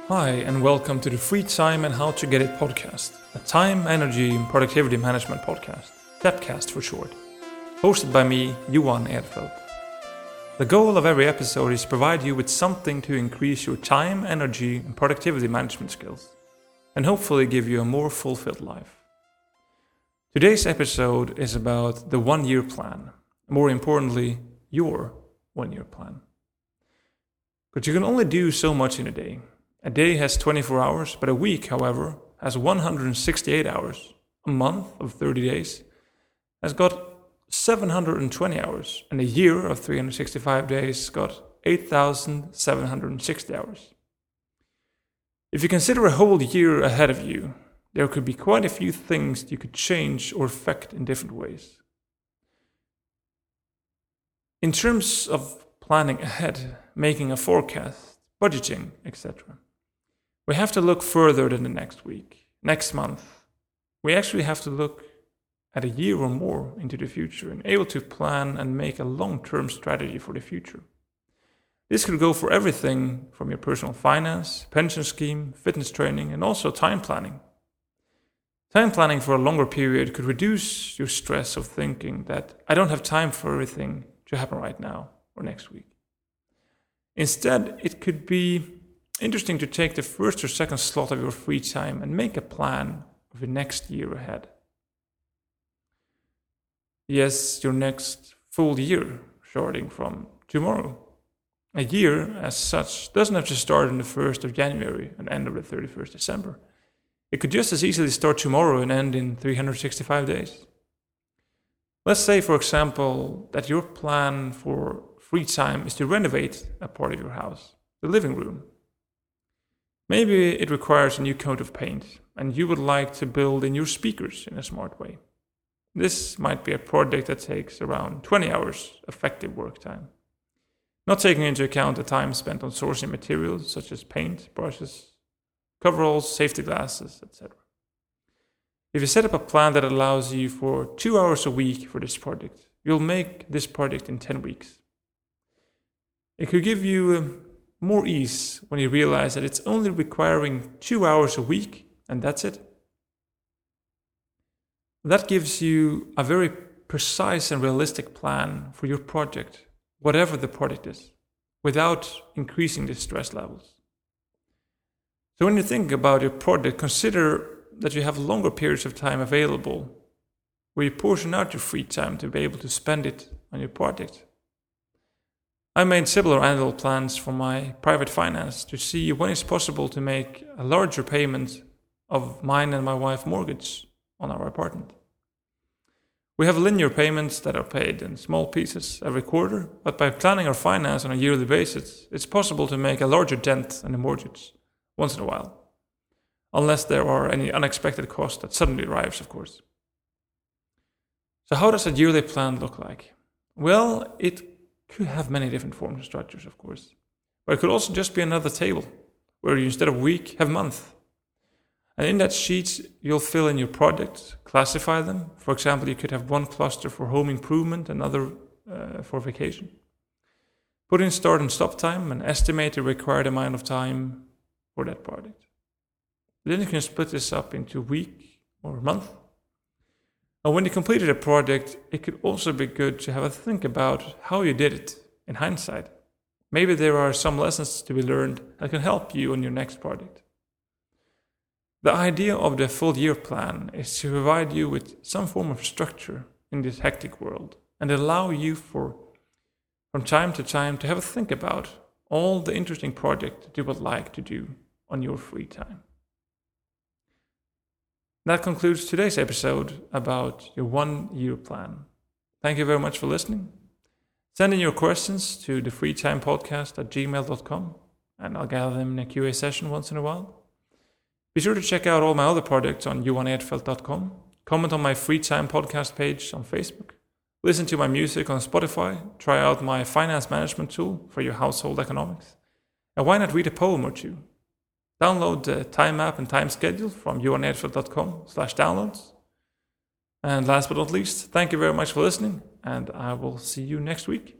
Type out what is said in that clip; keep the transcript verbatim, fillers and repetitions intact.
Hi, and welcome to the Free Time and How to Get It podcast, a time, energy, and productivity management podcast, TEPcast for short, hosted by me, Johan Edfeldt. The goal of every episode is to provide you with something to increase your time, energy, and productivity management skills, and hopefully give you a more fulfilled life. Today's episode is about the one-year plan, more importantly, your one-year plan. But you can only do so much in a day. A day has twenty-four hours, but a week, however, has one hundred sixty-eight hours. A month of thirty days has got seven hundred twenty hours, and a year of three hundred sixty-five days got eight thousand seven hundred sixty hours. If you consider a whole year ahead of you, there could be quite a few things you could change or affect in different ways. In terms of planning ahead, making a forecast, budgeting, et cetera, we have to look further than the next week, next month. We actually have to look at a year or more into the future and able to plan and make a long-term strategy for the future. This could go for everything from your personal finance, pension scheme, fitness training, and also time planning. Time planning for a longer period could reduce your stress of thinking that I don't have time for everything to happen right now or next week. Instead, it could be interesting to take the first or second slot of your free time and make a plan of the next year ahead. Yes, your next full year, starting from tomorrow. A year, as such, doesn't have to start on the first of January and end on the thirty-first of December. It could just as easily start tomorrow and end in three hundred sixty-five days. Let's say, for example, that your plan for free time is to renovate a part of your house, the living room. Maybe it requires a new coat of paint, and you would like to build in your speakers in a smart way. This might be a project that takes around twenty hours effective work time, not taking into account the time spent on sourcing materials such as paint, brushes, coveralls, safety glasses, et cetera. If you set up a plan that allows you for two hours a week for this project, you'll make this project in ten weeks. It could give you um, more ease when you realize that it's only requiring two hours a week and that's it. That gives you a very precise and realistic plan for your project, whatever the project is, without increasing the stress levels. So when you think about your project, consider that you have longer periods of time available where you portion out your free time to be able to spend it on your project. I made similar annual plans for my private finance to see when it's possible to make a larger payment of mine and my wife's mortgage on our apartment. We have linear payments that are paid in small pieces every quarter, but by planning our finance on a yearly basis, it's possible to make a larger dent in the mortgage once in a while, unless there are any unexpected costs that suddenly arrives, of course. So how does a yearly plan look like? Well, it could have many different forms and structures, of course. But it could also just be another table, where you instead of week, have month. And in that sheet, you'll fill in your projects, classify them. For example, you could have one cluster for home improvement, another uh, for vacation. Put in start and stop time, and estimate the required amount of time for that project. Then you can split this up into week or month. And when you completed a project, it could also be good to have a think about how you did it in hindsight. Maybe there are some lessons to be learned that can help you on your next project. The idea of the full year plan is to provide you with some form of structure in this hectic world and allow you for, from time to time, to have a think about all the interesting projects that you would like to do on your free time. That concludes today's episode about your one-year plan. Thank you very much for listening. Send in your questions to the freetimepodcast at gmail dot com, and I'll gather them in a Q A session once in a while. Be sure to check out all my other projects on johan edfeldt dot com, comment on my Free Time podcast page on Facebook, listen to my music on Spotify, try out my finance management tool for your household economics, and why not read a poem or two? Download the time map and time schedule from johan edfeldt dot com slash downloads. And last but not least, thank you very much for listening, and I will see you next week.